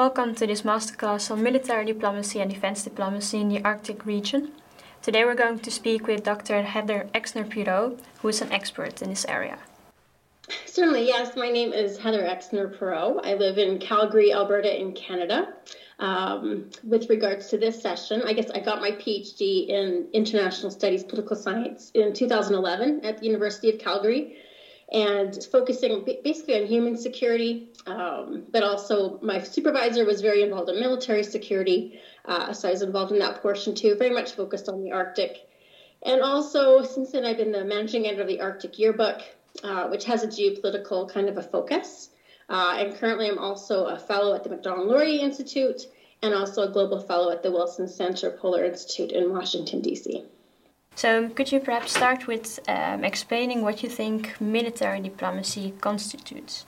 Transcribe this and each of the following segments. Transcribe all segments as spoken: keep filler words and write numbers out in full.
welcome to this masterclass on military diplomacy and defense diplomacy in the Arctic region. Today we're going to speak with Doctor Heather Exner-Pirot, who is an expert in this area. Certainly, yes. My name is Heather Exner-Pirot. I live in Calgary, Alberta in Canada. Um, with regards to this session, I guess I got my PhD in International Studies Political Science in two thousand eleven at the University of Calgary, and focusing basically on human security, um, but also my supervisor was very involved in military security, uh, so I was involved in that portion too, very much focused on the Arctic. And also, since then, I've been the managing editor of the Arctic Yearbook, uh, which has a geopolitical kind of a focus. Uh, and currently, I'm also a fellow at the Macdonald-Laurier Institute and also a global fellow at the Wilson Center Polar Institute in Washington, D C. So could you perhaps start with um, explaining what you think military diplomacy constitutes?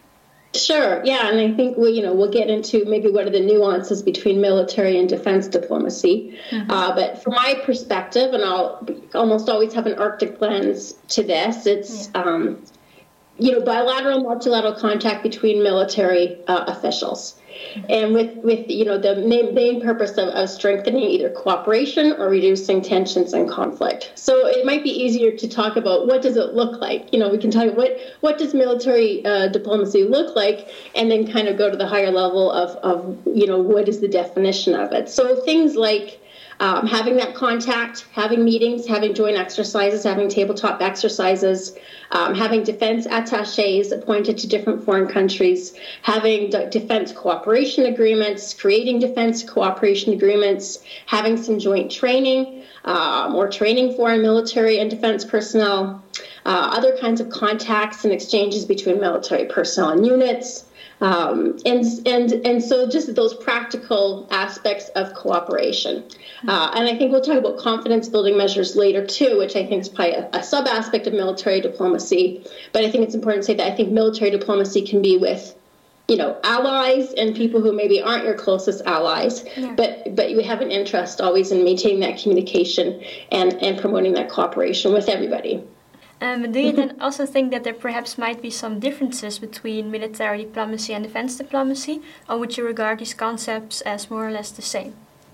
Sure, yeah, and I think we, you know, we'll get into maybe what are the nuances between military and defense diplomacy. Mm-hmm. Uh, but from my perspective, and I'll almost always have an Arctic lens to this, it's yeah. um, you know, bilateral, multilateral contact between military uh, officials. And with, with you know, the main, main purpose of, of strengthening either cooperation or reducing tensions and conflict. So it might be easier to talk about what does it look like. You know, we can talk about what, what does military uh, diplomacy look like, and then kind of go to the higher level of, of, you know, what is the definition of it. So things like Um, having that contact, having meetings, having joint exercises, having tabletop exercises, um, having defense attachés appointed to different foreign countries, having d- defense cooperation agreements, creating defense cooperation agreements, having some joint training um, or training foreign military and defense personnel, uh, other kinds of contacts and exchanges between military personnel and units. Um, and and and so just those practical aspects of cooperation. Uh, and I think we'll talk about confidence building measures later too, which I think is probably a, a sub aspect of military diplomacy. But I think it's important to say that I think military diplomacy can be with, you know, allies and people who maybe aren't your closest allies, yeah. but but you have an interest always in maintaining that communication and, and promoting that cooperation with everybody. Um, do you then also think that there perhaps might be some differences between military diplomacy and defense diplomacy, or would you regard these concepts as more or less the same?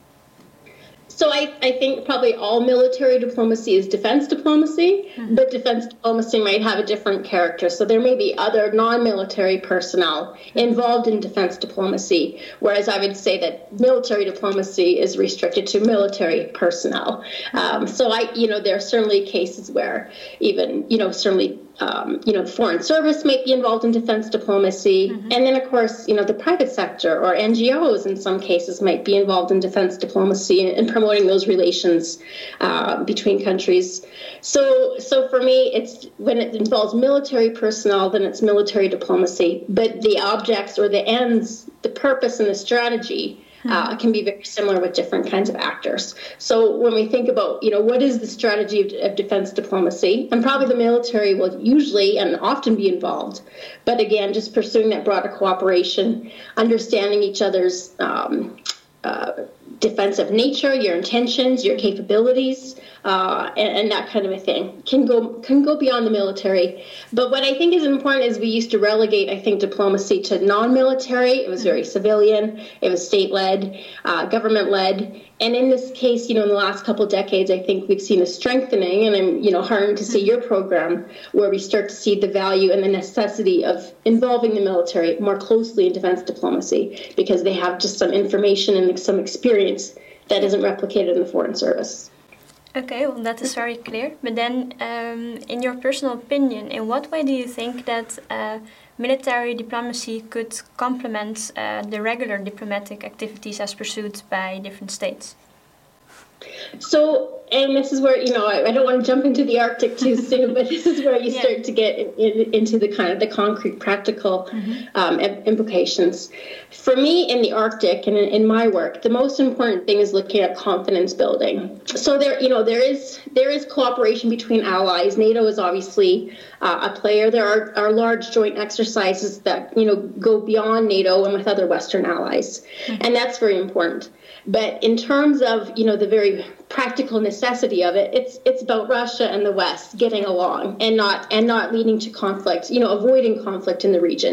So I, I think probably all military diplomacy is defense diplomacy, mm-hmm. but defense diplomacy might have a different character. So there may be other non-military personnel involved in defense diplomacy, whereas I would say that military diplomacy is restricted to military personnel. Um, so I, you know, there are certainly cases where even, you know, certainly Um, you know, foreign service might be involved in defense diplomacy. Mm-hmm. And then, of course, you know, the private sector or N G Os in some cases might be involved in defense diplomacy and, and promoting those relations uh, between countries. So so for me, it's when it involves military personnel, then it's military diplomacy. But the objects or the ends, the purpose and the strategy Uh, can be very similar with different kinds of actors. So when we think about, you know, what is the strategy of, of defense diplomacy, and probably the military will usually and often be involved. But again, just pursuing that broader cooperation, understanding each other's um, uh, defensive nature, your intentions, your capabilities, uh, and, and that kind of a thing can go can go beyond the military. But what I think is important is we used to relegate, I think, diplomacy to non-military. It was very civilian. It was state-led, uh, government-led. And in this case, you know, in the last couple of decades, I think we've seen a strengthening, and I'm, you know, heartened to see your program where we start to see the value and the necessity of involving the military more closely in defense diplomacy because they have just some information and some experience that isn't replicated in the foreign service. Okay, well, that is very clear. But then, um, in your personal opinion, in what way do you think that uh, military diplomacy could complement uh, the regular diplomatic activities as pursued by different states? So, and this is where, you know, I, I don't want to jump into the Arctic too soon, but this is where you yeah. start to get in, in, into the kind of the concrete, practical mm-hmm. um, implications. For me, in the Arctic and in, in my work, the most important thing is looking at confidence building. So there, you know, there is there is cooperation between allies. NATO is obviously uh, a player. There are, are large joint exercises that, you know, go beyond NATO and with other Western allies, mm-hmm. and that's very important. But in terms of, you know, the very practical necessity of it, it's it's about Russia and the West getting along and not and not leading to conflict, you know, avoiding conflict in the region.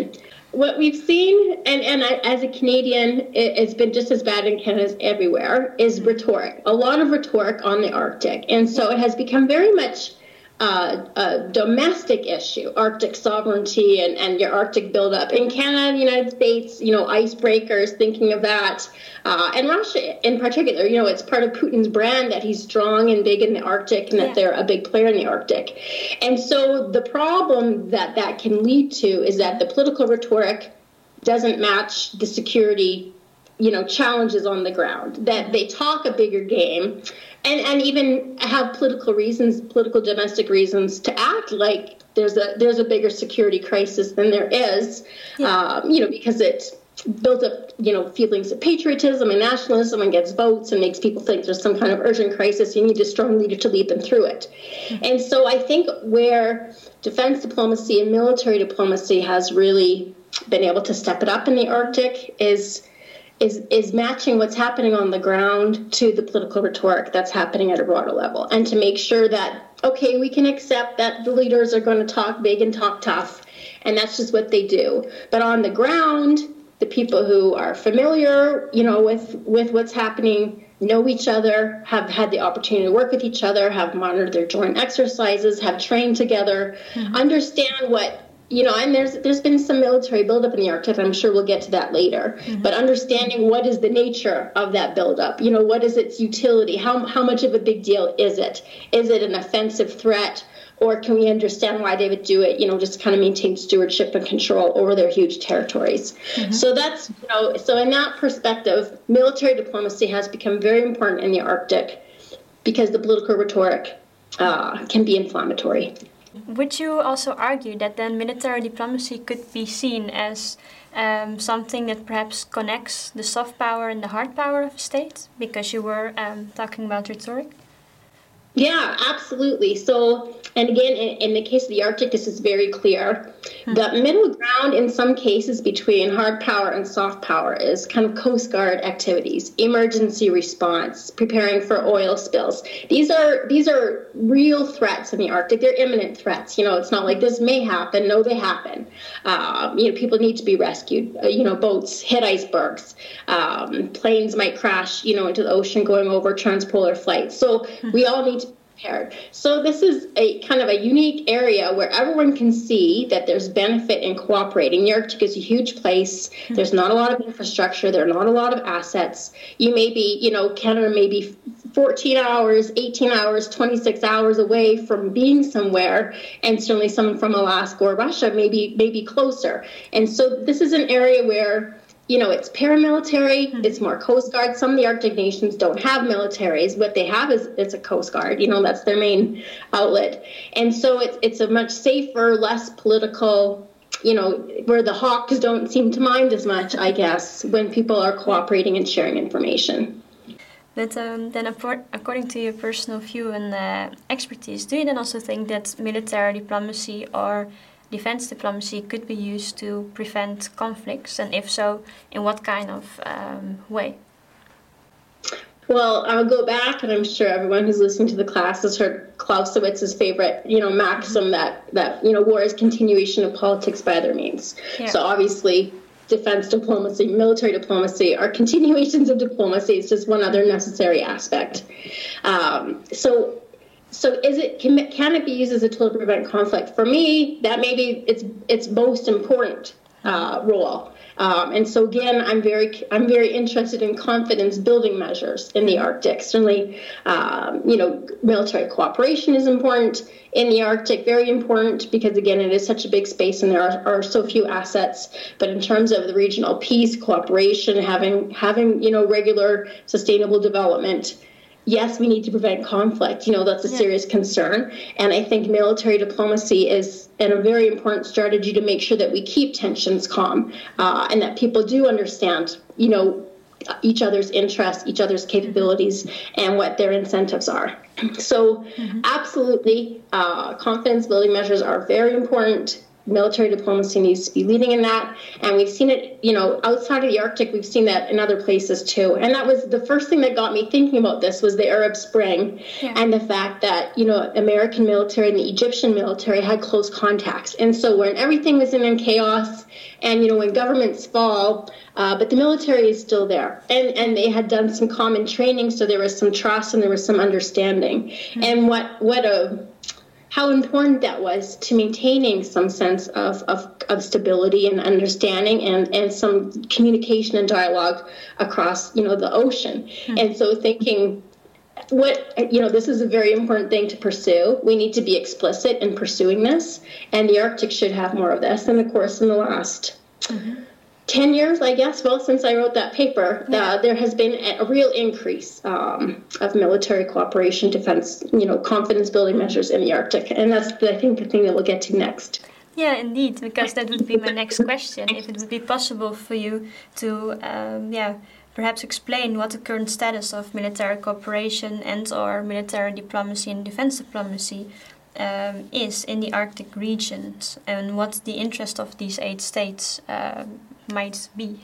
what we've seen, and, and I, as a Canadian, it, it's been just as bad in Canada as everywhere, is rhetoric. A lot of rhetoric on the Arctic. And so it has become very much uh, a domestic issue, Arctic sovereignty and, and your Arctic buildup. In Canada, the United States, you know, icebreakers, thinking of that. Uh, and Russia in particular, you know, it's part of Putin's brand that he's strong and big in the Arctic and that yeah. they're a big player in the Arctic. And so the problem that that can lead to is that the political rhetoric doesn't match the security, you know, challenges on the ground, that they talk a bigger game and, and even have political reasons, political domestic reasons to act like there's a there's a bigger security crisis than there is, yeah. um, you know, because it builds up, you know, feelings of patriotism and nationalism and gets votes and makes people think there's some kind of urgent crisis. You need a strong leader to lead them through it. Mm-hmm. And so I think where defense diplomacy and military diplomacy has really been able to step it up in the Arctic is is is matching what's happening on the ground to the political rhetoric that's happening at a broader level, and to make sure that, okay, we can accept that the leaders are going to talk big and talk tough, and that's just what they do. But on the ground, the people who are familiar, you know, with, with what's happening, know each other, have had the opportunity to work with each other, have monitored their joint exercises, have trained together, mm-hmm. understand what, you know, and there's there's been some military buildup in the Arctic. I'm sure we'll get to that later. Mm-hmm. But understanding what is the nature of that buildup, you know, what is its utility? How how much of a big deal is it? Is it an offensive threat? Or can we understand why they would do it, you know, just kind of maintain stewardship and control over their huge territories? Mm-hmm. So that's, you know, so in that perspective, military diplomacy has become very important in the Arctic because the political rhetoric uh, can be inflammatory. Would you also argue that then military diplomacy could be seen as um, something that perhaps connects the soft power and the hard power of a state? Because you were um, talking about rhetoric. Yeah, absolutely. So, and again, in, in the case of the Arctic, this is very clear. Hmm. The middle ground in some cases between hard power and soft power is kind of Coast Guard activities, emergency response, preparing for oil spills. These are these are real threats in the Arctic. They're imminent threats. You know, it's not like this may happen. No, they happen. Um, you know, people need to be rescued. Uh, you know, boats hit icebergs. Um, planes might crash, you know, into the ocean going over transpolar flights. So hmm. we all need to prepared. So this is a kind of a unique area where everyone can see that there's benefit in cooperating. The Arctic is a huge place. There's not a lot of infrastructure. There are not a lot of assets. You may be, you know, Canada may be fourteen hours, eighteen hours, twenty-six hours away from being somewhere, and certainly someone from Alaska or Russia may be, may be closer. And so this is an area where, you know, it's paramilitary, mm-hmm. it's more Coast Guard. Some of the Arctic nations don't have militaries. What they have is it's a Coast Guard. You know, that's their main outlet. And so it's it's a much safer, less political, you know, where the hawks don't seem to mind as much, I guess, when people are cooperating and sharing information. But um, then, according to your personal view and uh, expertise, do you then also think that military diplomacy or defense diplomacy could be used to prevent conflicts, and if so, in what kind of um, way? Well, I'll go back, and I'm sure everyone who's listening to the class has heard Clausewitz's favorite, you know, maxim that that you know, war is continuation of politics by other means. Yeah. So obviously, defense diplomacy, military diplomacy are continuations of diplomacy. It's just one other necessary aspect. Um, so. So is it can, can it be used as a tool to prevent conflict? For me, that may be its its most important uh, role. Um, and so again, I'm very I'm very interested in confidence building measures in the Arctic. Certainly, um, you know, military cooperation is important in the Arctic, very important because again, it is such a big space and there are, are so few assets. But in terms of the regional peace, cooperation, having having you know regular sustainable development. Yes, we need to prevent conflict. You know, that's a yeah. serious concern. And I think military diplomacy is a very important strategy to make sure that we keep tensions calm uh, and that people do understand, you know, each other's interests, each other's capabilities, and what their incentives are. So mm-hmm. absolutely, uh, confidence building measures are very important. military diplomacy needs to be leading in that. And we've seen it, you know, outside of the Arctic, we've seen that in other places too. And that was the first thing that got me thinking about this was the Arab Spring yeah. and the fact that, you know, American military and the Egyptian military had close contacts. And so when everything was in, in chaos and, you know, when governments fall, uh, but the military is still there. And, and they had done some common training, so there was some trust and there was some understanding. Mm-hmm. And what, what a... how important that was to maintaining some sense of, of, of stability and understanding and, and some communication and dialogue across, you know, the ocean. Mm-hmm. And so thinking, what, you know, this is a very important thing to pursue. We need to be explicit in pursuing this, and the Arctic should have more of this. And of course, in the last mm-hmm. ten years, I guess, well, since I wrote that paper, yeah. uh, there has been a real increase um, of military cooperation, defense, you know, confidence building measures in the Arctic. And that's, the, I think, the thing that we'll get to next. Yeah, indeed, because that would be my next question. If it would be possible for you to, um, yeah, perhaps explain what the current status of military cooperation and or military diplomacy and defense diplomacy um, is in the Arctic regions, and what the interest of these eight states um, might be.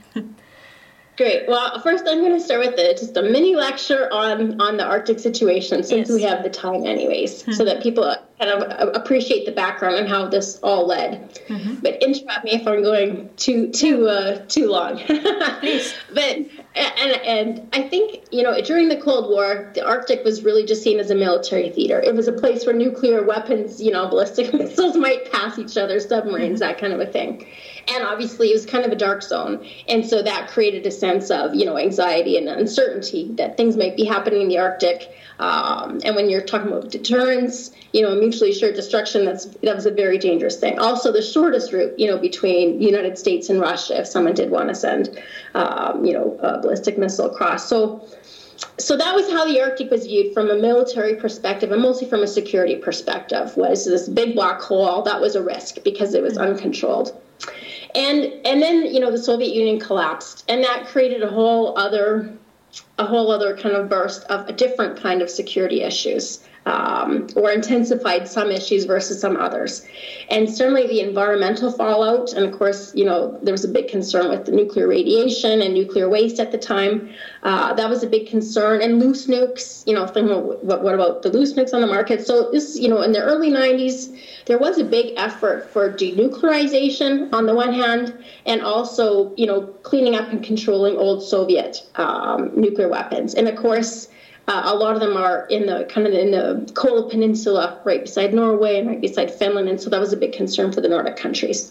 Great. Well, first I'm going to start with a, just a mini lecture on, on the Arctic situation, since yes. we have the time anyways, mm-hmm. so that people kind of appreciate the background and how this all led. Mm-hmm. But interrupt me if I'm going too too uh, too long. Please. But and and I think, you know, during the Cold War, the Arctic was really just seen as a military theater. It was a place where nuclear weapons, you know, ballistic missiles might pass each other, submarines, mm-hmm. that kind of a thing. And obviously it was kind of a dark zone. And so that created a sense of, you know, anxiety and uncertainty that things might be happening in the Arctic. Um, and when you're talking about deterrence, you know, mutually assured destruction, that's that was a very dangerous thing. Also, the shortest route, you know, between the United States and Russia, if someone did want to send, um, you know, a ballistic missile across. So So that was how the Arctic was viewed from a military perspective, and mostly from a security perspective, was this big black hole that was a risk because it was uncontrolled. And and then, you know, the Soviet Union collapsed, and that created a whole other a whole other kind of burst of a different kind of security issues, um, or intensified some issues versus some others. And certainly the environmental fallout, and of course, you know, there was a big concern with the nuclear radiation and nuclear waste at the time. Uh, that was a big concern. And loose nukes, you know, thinking, what, what about the loose nukes on the market? So this, you know, in the early nineties, there was a big effort for denuclearization on the one hand, and also, you know, cleaning up and controlling old Soviet um, nuclear weapons. And of course, uh, a lot of them are in the kind of in the Kola Peninsula, right beside Norway and right beside Finland. And so that was a big concern for the Nordic countries.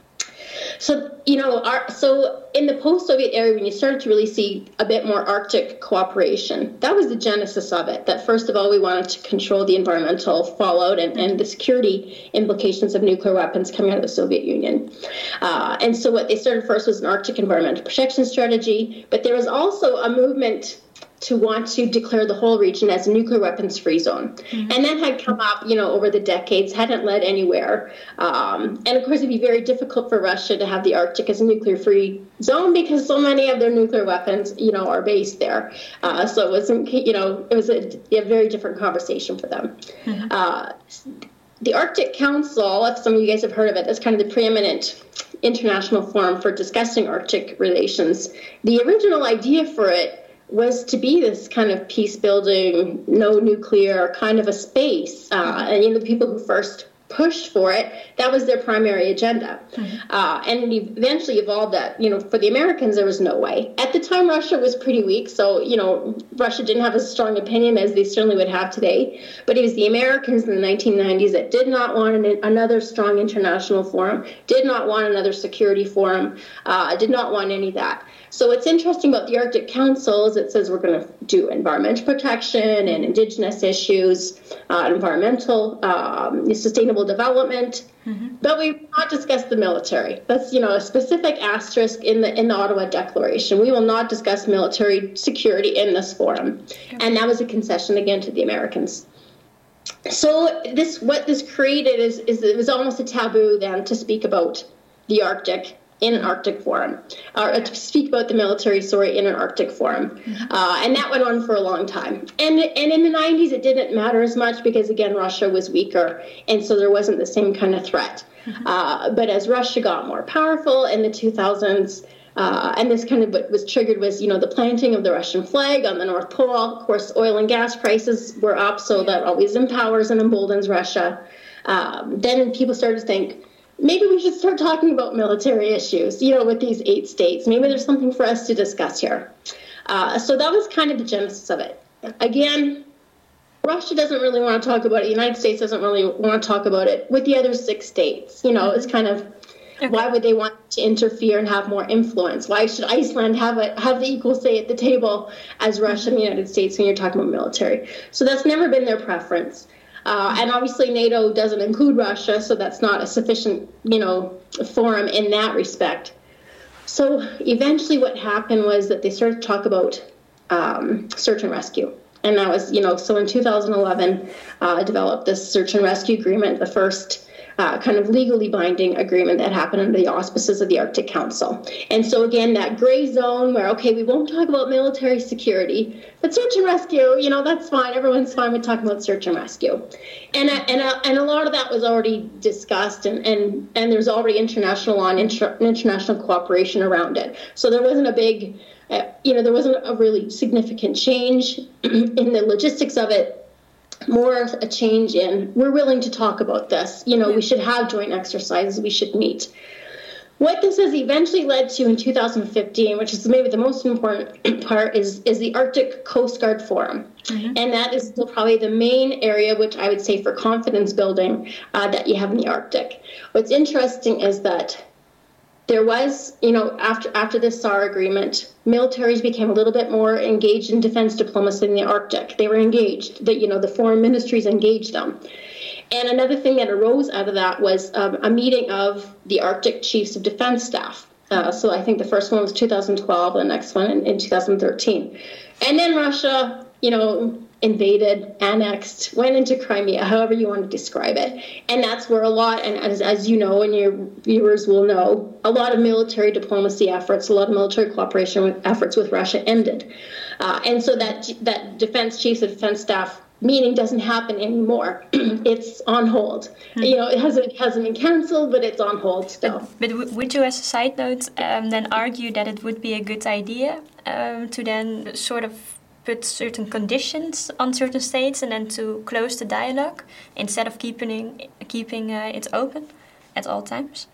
So, you know, our, so in the post-Soviet era, when you started to really see a bit more Arctic cooperation, that was the genesis of it. That first of all, we wanted to control the environmental fallout and, and the security implications of nuclear weapons coming out of the Soviet Union. Uh, and so what they started first was an Arctic environmental protection strategy, but there was also a movement to want to declare the whole region as a nuclear weapons-free zone. Mm-hmm. And that had come up, you know, over the decades, hadn't led anywhere. Um, and of course, it'd be very difficult for Russia to have the Arctic as a nuclear-free zone because so many of their nuclear weapons, you know, are based there. Uh, so it wasn't, you know, it was a, a very different conversation for them. Mm-hmm. Uh, the Arctic Council, if some of you guys have heard of it, is kind of the preeminent international forum for discussing Arctic relations. The original idea for it was to be this kind of peace-building, no nuclear kind of a space. Uh, and, you know, the people who first pushed for it, that was their primary agenda. Mm-hmm. Uh, and it eventually evolved that, you know, for the Americans, there was no way. At the time, Russia was pretty weak. So, you know, Russia didn't have a strong opinion as they certainly would have today. But it was the Americans in the nineteen nineties that did not want an, another strong international forum, did not want another security forum, uh, did not want any of that. So what's interesting about the Arctic Council is it says we're going to do environmental protection and indigenous issues, uh, environmental, um, sustainable development, mm-hmm. but we will not discuss the military. That's, you know, a specific asterisk in the in the Ottawa Declaration. We will not discuss military security in this forum, okay. And that was a concession again to the Americans. So this what this created is is it was almost a taboo then to speak about the Arctic in an Arctic forum, or to speak about the military, sorry, in an Arctic forum. Mm-hmm. Uh, and that went on for a long time. And and in the nineties, it didn't matter as much because, again, Russia was weaker, and so there wasn't the same kind of threat. Mm-hmm. Uh, but as Russia got more powerful in the two thousands, uh, and this kind of what was triggered was, you know, the planting of the Russian flag on the North Pole. Of course, oil and gas prices were up, so that always empowers and emboldens Russia. Um, then people started to think, maybe we should start talking about military issues, you know, with these eight states. Maybe there's something for us to discuss here. Uh, so that was kind of the genesis of it. Again, Russia doesn't really want to talk about it. The United States doesn't really want to talk about it with the other six states. You know, it's kind of, okay. Why would they want to interfere and have more influence? Why should Iceland have a have the equal say at the table as Russia and the United States when you're talking about military? So that's never been their preference. Uh, and obviously NATO doesn't include Russia, so that's not a sufficient, you know, forum in that respect. So eventually what happened was that they started to talk about um, search and rescue. And that was, you know, so in two thousand eleven, uh, developed this search and rescue agreement, the first uh, kind of legally binding agreement that happened under the auspices of the Arctic Council. And so, again, that gray zone where, okay, we won't talk about military security, but search and rescue, you know, that's fine. Everyone's fine with talking about search and rescue. And and and a lot of that was already discussed, and, and, and there's already international law and inter, international cooperation around it. So there wasn't a big... Uh, you know, there wasn't a really significant change in the logistics of it, more a change in, we're willing to talk about this. You know, yeah. We should have joint exercises, we should meet. What this has eventually led to in two thousand fifteen, which is maybe the most important part, is, is the Arctic Coast Guard Forum. Mm-hmm. And that is still probably the main area, which I would say for confidence building, uh, that you have in the Arctic. What's interesting is that there was, you know, after after this S A R agreement, militaries became a little bit more engaged in defense diplomacy in the Arctic. They were engaged, that, you know, the foreign ministries engaged them. And another thing that arose out of that was um, a meeting of the Arctic Chiefs of Defense Staff. Uh, so I think the first one was two thousand twelve, the next one in, in two thousand thirteen. And then Russia, you know, invaded, annexed, went into Crimea, however you want to describe it. And that's where a lot, and as, as you know, and your viewers will know, a lot of military diplomacy efforts, a lot of military cooperation with, efforts with Russia ended. Uh, and so that that Defense Chiefs of Defense Staff meeting doesn't happen anymore. It's on hold. Hmm. You know, it hasn't, it hasn't been canceled, but it's on hold still. But, but w- would you, as a side note, um, then argue that it would be a good idea um, to then sort of put certain conditions on certain states and then to close the dialogue instead of keeping keeping uh, it open at all times?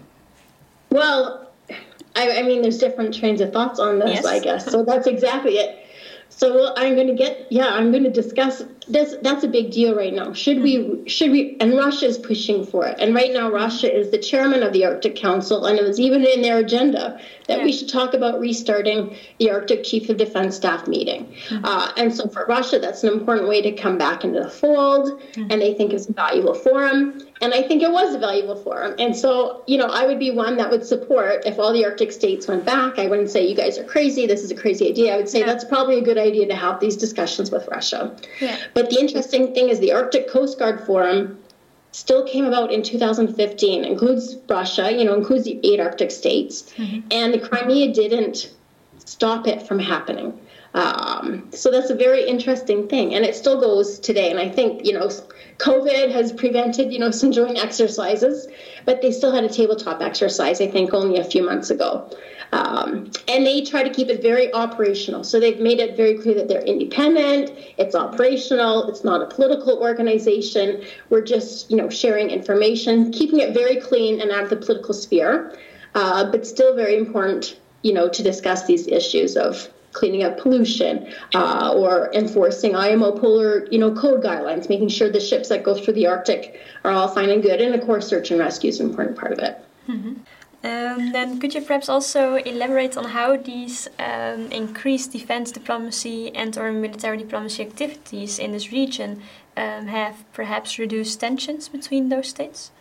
Well, I, I mean, there's different trains of thoughts on this, yes. I guess. So that's exactly it. So I'm going to get, yeah, I'm going to discuss this. That's a big deal right now. Should we, should we, and Russia is pushing for it. And right now, Russia is the chairman of the Arctic Council, and it was even in their agenda that yeah. we should talk about restarting the Arctic Chief of Defense Staff meeting. Mm-hmm. Uh, and so for Russia, that's an important way to come back into the fold, mm-hmm. and they think it's a valuable forum. And I think it was a valuable forum. And so, you know, I would be one that would support, if all the Arctic states went back, I wouldn't say you guys are crazy, this is a crazy idea. I would say yeah. that's probably a good idea to have these discussions with Russia. Yeah. But the interesting thing is the Arctic Coast Guard Forum still came about in two thousand fifteen, includes Russia, you know, includes the eight Arctic states. Mm-hmm. And the Crimea didn't stop it from happening. Um, so that's a very interesting thing. And it still goes today. And I think, you know, COVID has prevented, you know, some joint exercises, but they still had a tabletop exercise, I think, only a few months ago. Um, and they try to keep it very operational. So they've made it very clear that they're independent, it's operational, it's not a political organization. We're just, you know, sharing information, keeping it very clean and out of the political sphere, uh, but still very important, you know, to discuss these issues of cleaning up pollution, uh, or enforcing I M O polar, you know, code guidelines, making sure the ships that go through the Arctic are all fine and good. And of course, search and rescue is an important part of it. Mm-hmm. Um, then could you perhaps also elaborate on how these um, increased defense diplomacy and or military diplomacy activities in this region um, have perhaps reduced tensions between those states?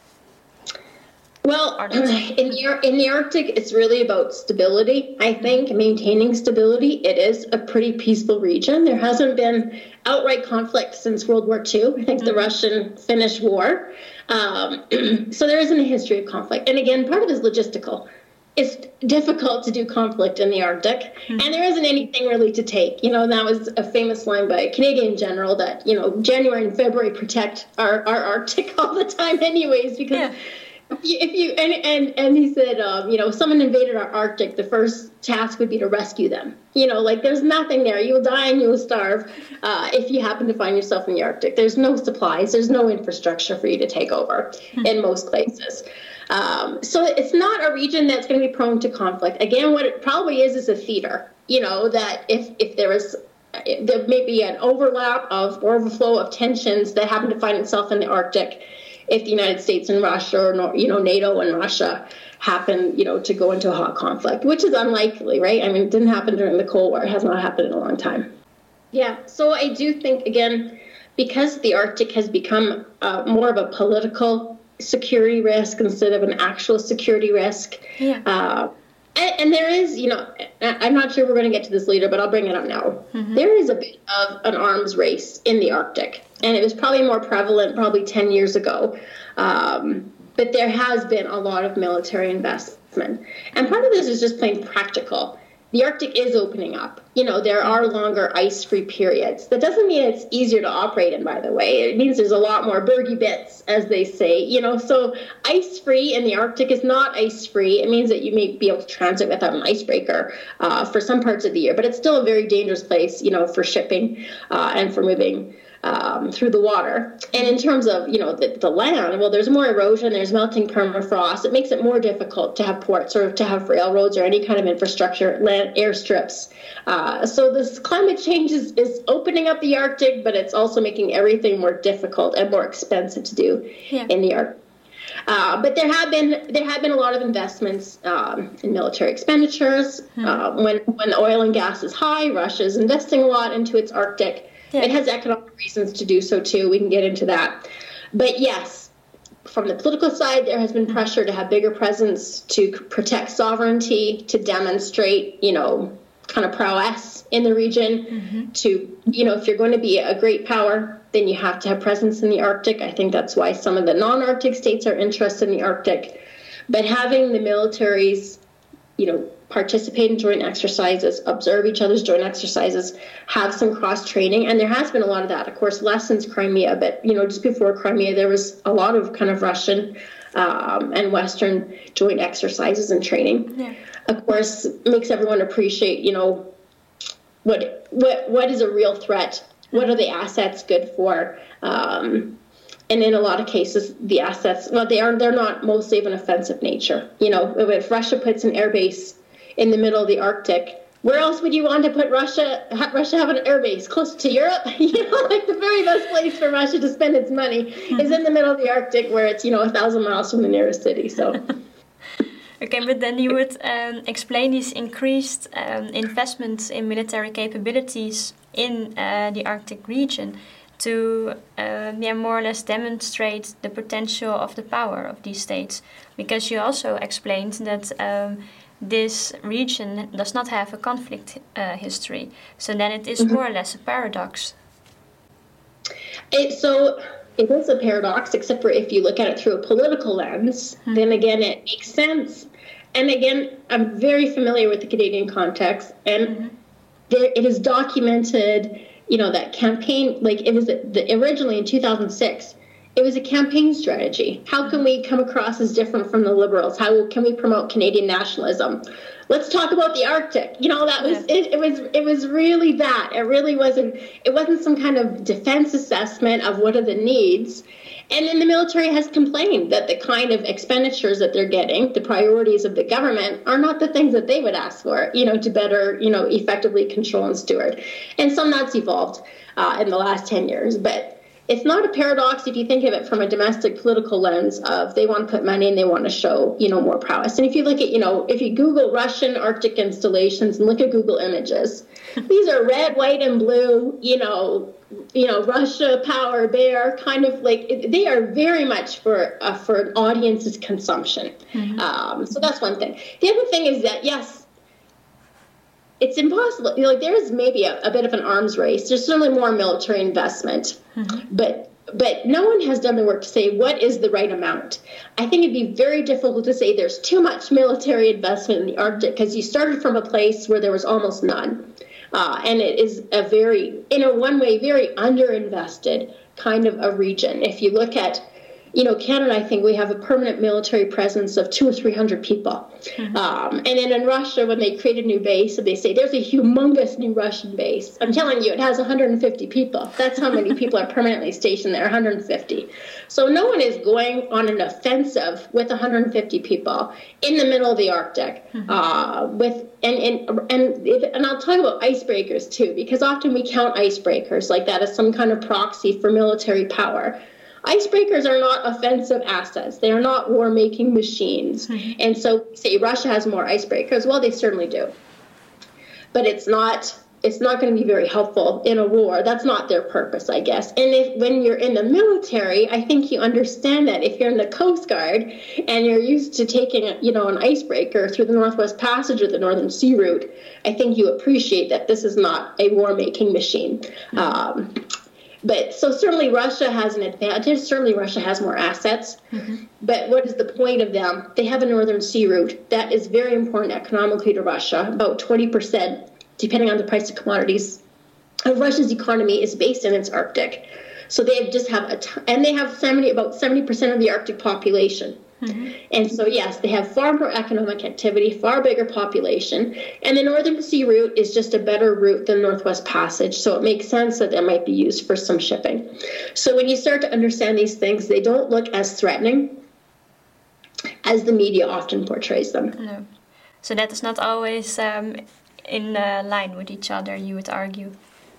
Well, in the, in the Arctic, it's really about stability, I think, maintaining stability. It is a pretty peaceful region. There hasn't been outright conflict since World War Two, I think, mm-hmm. the Russian-Finnish War. Um, so there isn't a history of conflict. And again, part of it is logistical. it's difficult to do conflict in the Arctic, mm-hmm. and there isn't anything really to take. You know, that was a famous line by a Canadian general that, you know, January and February protect our, our Arctic all the time anyways, because yeah. if you, if you and, and, and he said, um, you know, if someone invaded our Arctic, the first task would be to rescue them. You know, like there's nothing there. You will die and you will starve uh, if you happen to find yourself in the Arctic. There's no supplies. There's no infrastructure for you to take over mm-hmm. in most places. Um, so it's not a region that's going to be prone to conflict. Again, what it probably is is a theater, you know, that if, if there is, there may be an overlap of or overflow of tensions that happen to find itself in the Arctic if the United States and Russia or, you know, NATO and Russia happen, you know, to go into a hot conflict, which is unlikely, right? I mean, it didn't happen during the Cold War. It has not happened in a long time. Yeah, so I do think, again, because the Arctic has become uh, more of a political security risk instead of an actual security risk. Yeah. Uh, and, and there is, you know, I'm not sure we're going to get to this later, but I'll bring it up now. Mm-hmm. There is a bit of an arms race in the Arctic, and it was probably more prevalent probably ten years ago. Um, but there has been a lot of military investment. And part of this is just plain practical. The Arctic is opening up. You know, there are longer ice-free periods. That doesn't mean it's easier to operate in, by the way. It means there's a lot more bergy bits, as they say. You know, so ice-free in the Arctic is not ice-free. It means that you may be able to transit without an icebreaker uh, for some parts of the year. But it's still a very dangerous place, you know, for shipping uh, and for moving um, through the water. And in terms of, you know, the, the land, well, there's more erosion, there's melting permafrost. It makes it more difficult to have ports or to have railroads or any kind of infrastructure, land airstrips. Uh, so this climate change is, is opening up the Arctic, but it's also making everything more difficult and more expensive to do yeah. in the Arctic. Uh, but there have been there have been a lot of investments um, in military expenditures. Hmm. Uh, when when oil and gas is high, Russia is investing a lot into its Arctic. Yeah. It has economic reasons to do so too. We can get into that. But yes, from the political side, there has been pressure to have bigger presence, to protect sovereignty, to demonstrate, you know, kind of prowess in the region. Mm-hmm. To, you know, if you're going to be a great power, then you have to have presence in the Arctic. I think that's why some of the non-Arctic states are interested in the Arctic. But having the militaries, you know, participate in joint exercises, observe each other's joint exercises, have some cross-training. And there has been a lot of that, of course, less since Crimea. But, you know, just before Crimea, there was a lot of kind of Russian um, and Western joint exercises and training. Yeah. Of course, makes everyone appreciate, you know, what what what is a real threat? What are the assets good for? Um, and in a lot of cases, the assets, well, they are they're not mostly of an offensive nature. You know, if Russia puts an air base in the middle of the Arctic, where else would you want to put Russia? Ha, Russia have an air base close to Europe? You know, like the very best place for Russia to spend its money mm-hmm. is in the middle of the Arctic, where it's, you know, a thousand miles from the nearest city. So. Okay, but then you would um, explain these increased um, investments in military capabilities in uh, the Arctic region to uh, yeah, more or less demonstrate the potential of the power of these states. Because you also explained that um, this region does not have a conflict uh, history. So then it is mm-hmm. more or less a paradox. It, so it is a paradox, except for if you look at it through a political lens, mm-hmm. then again, it makes sense. And again, I'm very familiar with the Canadian context, and mm-hmm. there, it is documented, you know, that campaign, like it was the, originally in two thousand six, it was a campaign strategy. How can we come across as different from the Liberals? How can we promote Canadian nationalism? Let's talk about the Arctic. You know, that was it, it was it was really that. It really wasn't it wasn't some kind of defense assessment of what are the needs. And then the military has complained that the kind of expenditures that they're getting, the priorities of the government, are not the things that they would ask for, you know, to better, you know, effectively control and steward. And some that's evolved uh, in the last ten years. But it's not a paradox if you think of it from a domestic political lens of they want to put money and they want to show, you know, more prowess. And if you look at, you know, if you Google Russian Arctic installations and look at Google Images, these are red, white, and blue, you know, you know, Russia, power, bear, kind of like, they are very much for uh, for an audience's consumption. Mm-hmm. Um, so that's one thing. The other thing is that, yes, it's impossible. You know, like there is maybe a, a bit of an arms race. There's certainly more military investment, mm-hmm. but but no one has done the work to say what is the right amount. I think it'd be very difficult to say there's too much military investment in the Arctic because you started from a place where there was almost none. Uh, and it is a very, in a one way, very underinvested kind of a region. If you look at, you know, Canada, I think we have a permanent military presence of two or three hundred people. Mm-hmm. Um, and then in Russia, when they create a new base, they say there's a humongous new Russian base. I'm telling you, it has one hundred fifty people. That's how many people are permanently stationed there, one hundred fifty. So no one is going on an offensive with one hundred fifty people in the middle of the Arctic. Mm-hmm. Uh, with and and and, if, and I'll talk about icebreakers too, because often we count icebreakers like that as some kind of proxy for military power. Icebreakers are not offensive assets. They are not war-making machines. Mm-hmm. And so, say Russia has more icebreakers. Well, they certainly do. But it's not it's not going to be very helpful in a war. That's not their purpose, I guess. And if when you're in the military, I think you understand that. If you're in the Coast Guard and you're used to taking, you know, an icebreaker through the Northwest Passage or the Northern Sea Route, I think you appreciate that this is not a war-making machine. Mm-hmm. Um But so certainly Russia has an advantage. Certainly Russia has more assets. Mm-hmm. But what is the point of them? They have a Northern Sea Route that is very important economically to Russia. About twenty percent, depending on the price of commodities, of Russia's economy is based in its Arctic. So they just have a t- and they have seventy about seventy percent of the Arctic population. Mm-hmm. And so, yes, they have far more economic activity, far bigger population, and the Northern Sea Route is just a better route than Northwest Passage, so it makes sense that that might be used for some shipping. So when you start to understand these things, they don't look as threatening as the media often portrays them. No. So that is not always um, in uh, line with each other, you would argue.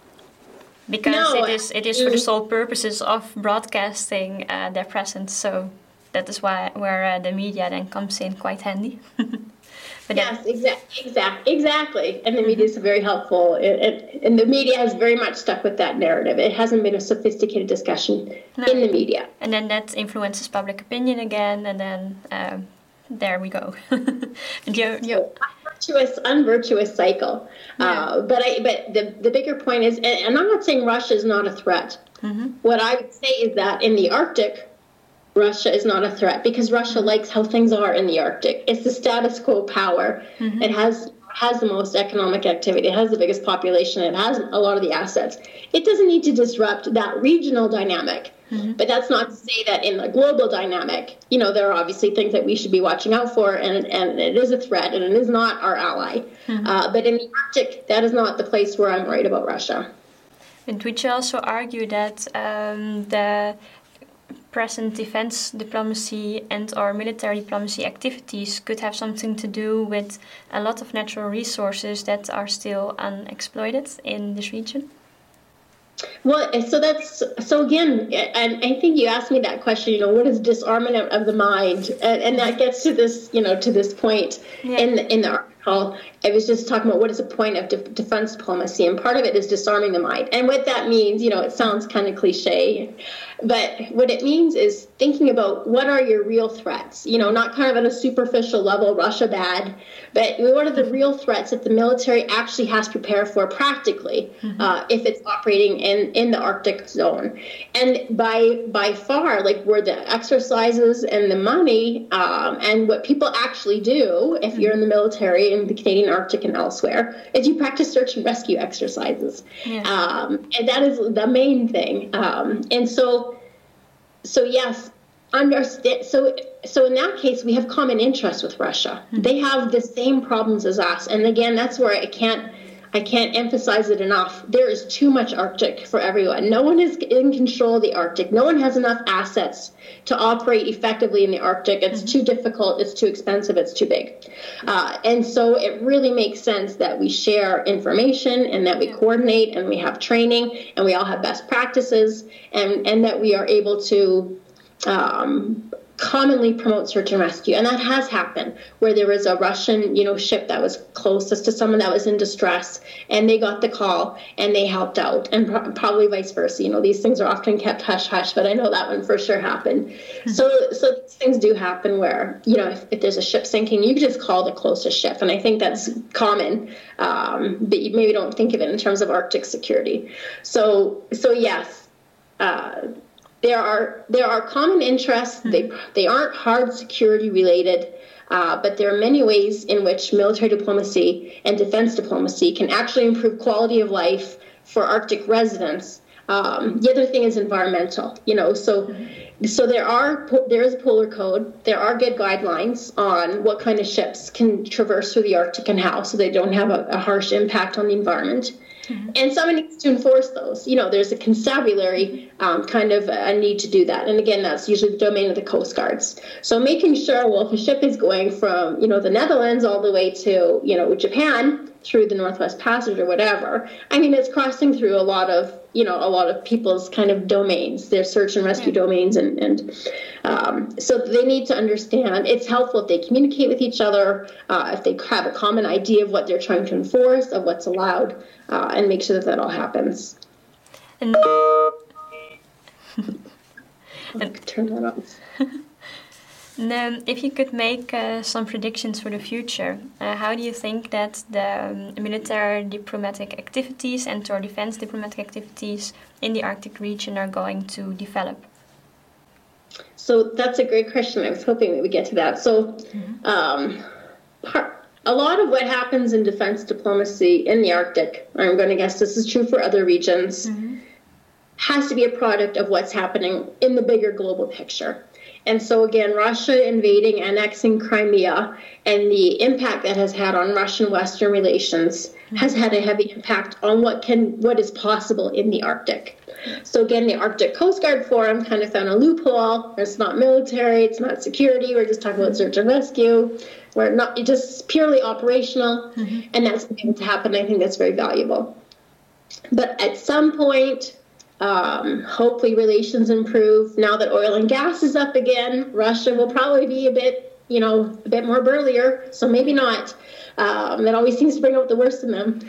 Because no, it is it is for the sole purposes of broadcasting uh, their presence, so... That is why where uh, the media then comes in quite handy. But yes, exactly, exactly, exactly. And the media is very helpful. It, it, and the media has very much stuck with that narrative. It hasn't been a sophisticated discussion no. in the media. And then that influences public opinion again, and then um, there we go. you, you, Unvirtuous, unvirtuous cycle. Yeah. Uh, but I, but the the bigger point is, and, and I'm not saying Russia is not a threat. Mm-hmm. What I would say is that in the Arctic, Russia is not a threat because Russia likes how things are in the Arctic. It's the status quo power. Mm-hmm. It has has the most economic activity. It has the biggest population. It has a lot of the assets. It doesn't need to disrupt that regional dynamic. Mm-hmm. But that's not to say that in the global dynamic, you know, there are obviously things that we should be watching out for, and, and it is a threat, and it is not our ally. Mm-hmm. Uh, but in the Arctic, that is not the place where I'm worried about Russia. And would you also argue that um, the present defense diplomacy and or military diplomacy activities could have something to do with a lot of natural resources that are still unexploited in this region? Well, so that's so again, and I think you asked me that question. You know, what is disarmament of the mind, and, and that gets to this, you know, to this point yeah. in the, in the article. I was just talking about what is the point of de- defense diplomacy, and part of it is disarming the mind. And what that means, you know, it sounds kind of cliche, but what it means is thinking about what are your real threats. You know, not kind of at a superficial level, Russia bad, but what are the real threats that the military actually has to prepare for practically mm-hmm. uh, if it's operating in, in the Arctic zone. And by by far, like where the exercises and the money um, and what people actually do if mm-hmm. you're in the military in the Canadian Arctic and elsewhere is you practice search and rescue exercises. Yeah. Um, and that is the main thing. Um, and so, so yes, understand. So, so in that case, we have common interests with Russia. Mm-hmm. They have the same problems as us. And again, that's where I can't, I can't emphasize it enough. There is too much Arctic for everyone. No one is in control of the Arctic. No one has enough assets to operate effectively in the Arctic. It's mm-hmm. too difficult. It's too expensive. It's too big. Uh, and so it really makes sense that we share information and that we coordinate and we have training and we all have best practices and, and that we are able to um, commonly promote search and rescue. And that has happened where there was a Russian, you know, ship that was closest to someone that was in distress and they got the call and they helped out, and pro- probably vice versa. You know, these things are often kept hush hush, but I know that one for sure happened. Mm-hmm. So, so these things do happen where, you know, if, if there's a ship sinking, you can just call the closest ship. And I think that's common, um, but you maybe don't think of it in terms of Arctic security. So, so yes, uh, there are there are common interests. Mm-hmm. They they aren't hard security related. Uh, but there are many ways in which military diplomacy and defense diplomacy can actually improve quality of life for Arctic residents. Um, the other thing is environmental, you know, so mm-hmm. so there are there is a polar code. There are good guidelines on what kind of ships can traverse through the Arctic and how, so they don't have a, a harsh impact on the environment. Mm-hmm. And someone needs to enforce those. You know, there's a constabulary um, kind of a need to do that. And again, that's usually the domain of the Coast Guards. So making sure, well, if a ship is going from, you know, the Netherlands all the way to, you know, Japan through the Northwest Passage or whatever, I mean, it's crossing through a lot of, you know, a lot of people's kind of domains, their search and rescue yeah. domains. And, and um, so they need to understand. It's helpful if they communicate with each other, uh, if they have a common idea of what they're trying to enforce, of what's allowed, uh, and make sure that that all happens. And, and turn that off. And, um, if you could make uh, some predictions for the future, uh, how do you think that the um, military diplomatic activities and or defense diplomatic activities in the Arctic region are going to develop? So that's a great question. I was hoping we would get to that. So mm-hmm. um, part, a lot of what happens in defense diplomacy in the Arctic, I'm going to guess this is true for other regions, mm-hmm. has to be a product of what's happening in the bigger global picture. And so, again, Russia invading, annexing Crimea, and the impact that has had on Russian-Western relations mm-hmm. has had a heavy impact on what can, what is possible in the Arctic. So, again, the Arctic Coast Guard Forum kind of found a loophole. It's not military, it's not security. We're just talking about search and rescue. We're not just purely operational, mm-hmm. and that's going to happen. I think that's very valuable. But at some point, Um, hopefully relations improve. Now that oil and gas is up again, Russia will probably be a bit, you know, a bit more burlier. So maybe not. Um, that always seems to bring out the worst in them.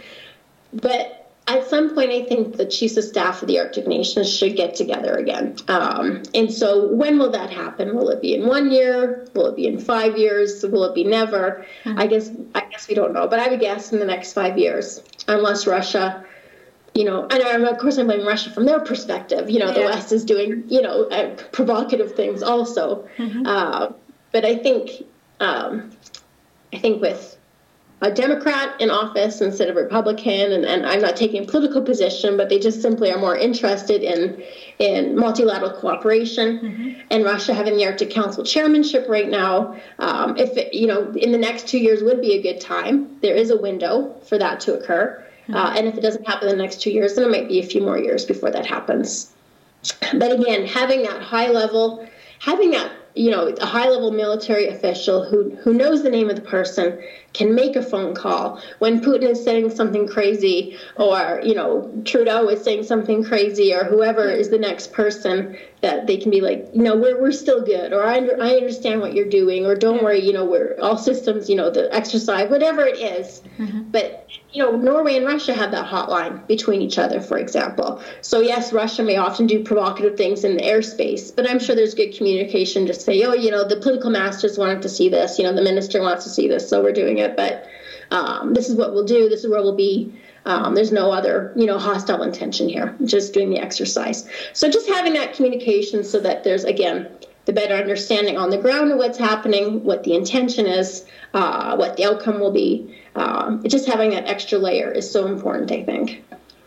But at some point, I think the chiefs of staff of the Arctic nations should get together again. Um, and so when will that happen? Will it be in one year? Will it be in five years? Will it be never? Mm-hmm. I guess I guess we don't know. But I would guess in the next five years, unless Russia... You know, and of course I'm blaming Russia from their perspective. You know, yeah. the West is doing, you know, uh, provocative things also. Mm-hmm. Uh, but I think, um, I think with a Democrat in office instead of a Republican, and, and I'm not taking a political position, but they just simply are more interested in in multilateral cooperation. Mm-hmm. And Russia having the Arctic Council chairmanship right now, um, if it, you know, in the next two years would be a good time. There is a window for that to occur. Uh, and if it doesn't happen in the next two years, then it might be a few more years before that happens. But again, having that high level, having that, you know, a high level military official who, who knows the name of the person can make a phone call when Putin is saying something crazy, or, you know, Trudeau is saying something crazy, or whoever is the next person, that they can be like, you know, we're we're still good, or I, under, I understand what you're doing, or don't worry, you know, we're all systems, you know, the exercise, whatever it is. Mm-hmm. But, you know, Norway and Russia have that hotline between each other, for example. So, yes, Russia may often do provocative things in the airspace, but I'm sure there's good communication to say, oh, you know, the political masters wanted to see this, you know, the minister wants to see this, so we're doing it. But um, this is what we'll do. This is where we'll be. Um, there's no other, you know, hostile intention here, just doing the exercise. So just having that communication so that there's, again, the better understanding on the ground of what's happening, what the intention is, uh, what the outcome will be. Um, just having that extra layer is so important, I think.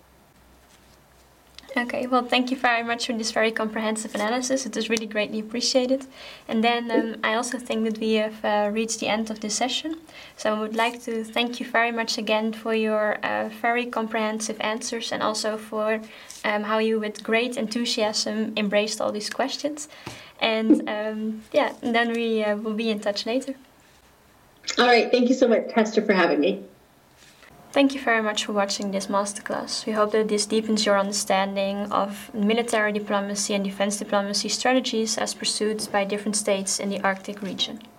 Okay, well, thank you very much for this very comprehensive analysis. It is really greatly appreciated. And then um, I also think that we have uh, reached the end of this session. So I would like to thank you very much again for your uh, very comprehensive answers, and also for um, how you with great enthusiasm embraced all these questions. And um, yeah, and then we uh, will be in touch later. All right, thank you so much, Hester, for having me. Thank you very much for watching this masterclass. We hope that this deepens your understanding of military diplomacy and defense diplomacy strategies as pursued by different states in the Arctic region.